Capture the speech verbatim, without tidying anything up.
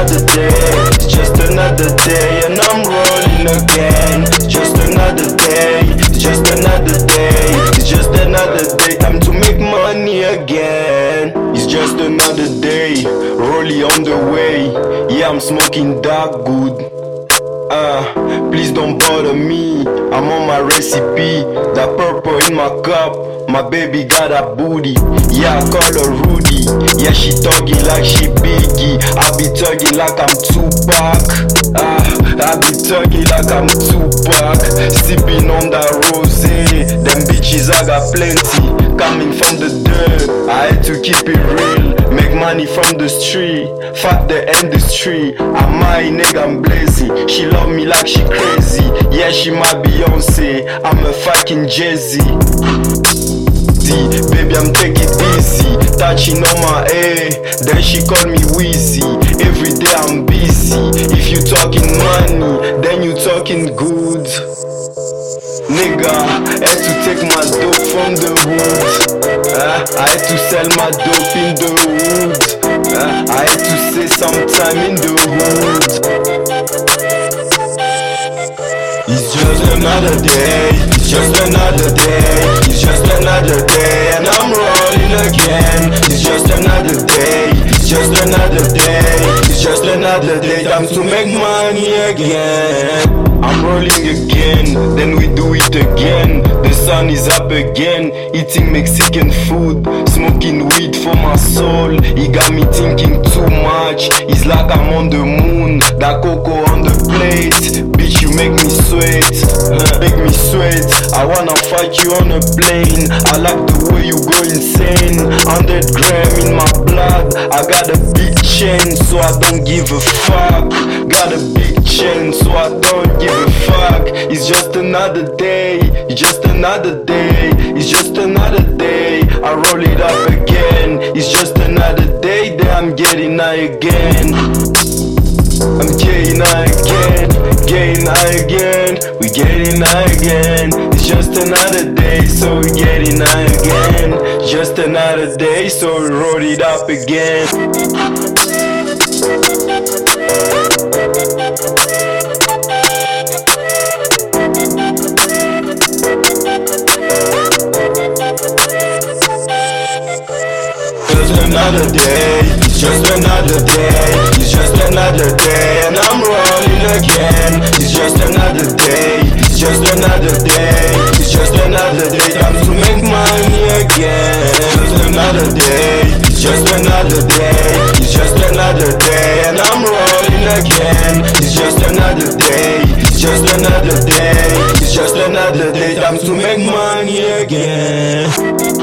another day, it's just another day, and I'm rolling again. It's just another day, it's just another day, it's just another day. Time to make money again. It's just another day, rolling on the way. Yeah, I'm smoking dark good. Uh, please don't bother me, I'm on my recipe. That purple in my cup, my baby got a booty. Yeah, I call her Rudy. Yeah, she talking like she Biggie. I be talking like I'm Tupac. Ah, I be talking like I'm Tupac. Sipping on that rosé. Them bitches I got plenty. Coming from the dirt, I had to keep it real. Make money from the street, fuck the industry. I'm my nigga, I'm blazing. She love me like she crazy. Yeah, she my Beyonce, I'm a fucking Jay-Z. Baby, I'm taking it easy, touching on my A, then she call me Wheezy. Every day I'm busy. If you talking money, then you talking good. Nigga, I had to take my dope from the wood. uh, I had to sell my dope in the wood. uh, I had to say sometime in the hood. It's just another day, it's just another day, it's just another day, and I'm rolling again. It's just another day, it's just another day, it's just another day. Time to make money again. I'm rolling again, then we do it again. The sun is up again, eating Mexican food, smoking weed for my soul. It got me thinking too much, it's like I'm on the moon. That cocoa on the plate, bitch you make me sweat, huh, make me sweat. I wanna fight you on a plane, I like the way you go insane. one hundred gram in my blood, I got a big chain, so I don't give a fuck. Got a big chain, so I don't give a fuck. It's just another day, it's just another day, it's just another day. I roll it up again. It's just another day that I'm getting high again. I'm getting high again, getting high again, we getting high again. It's just another day, so we getting high again. Just another day, so we roll it up again. Just another day, it's just another day, it's just another day, and I'm rolling again. It's just another day, it's just another day, it's just another day. Time to make money again. Just another day, it's just another day, it's just another day, and I'm rolling again. It's just another day, it's just another day, it's just another day. Time to make money again.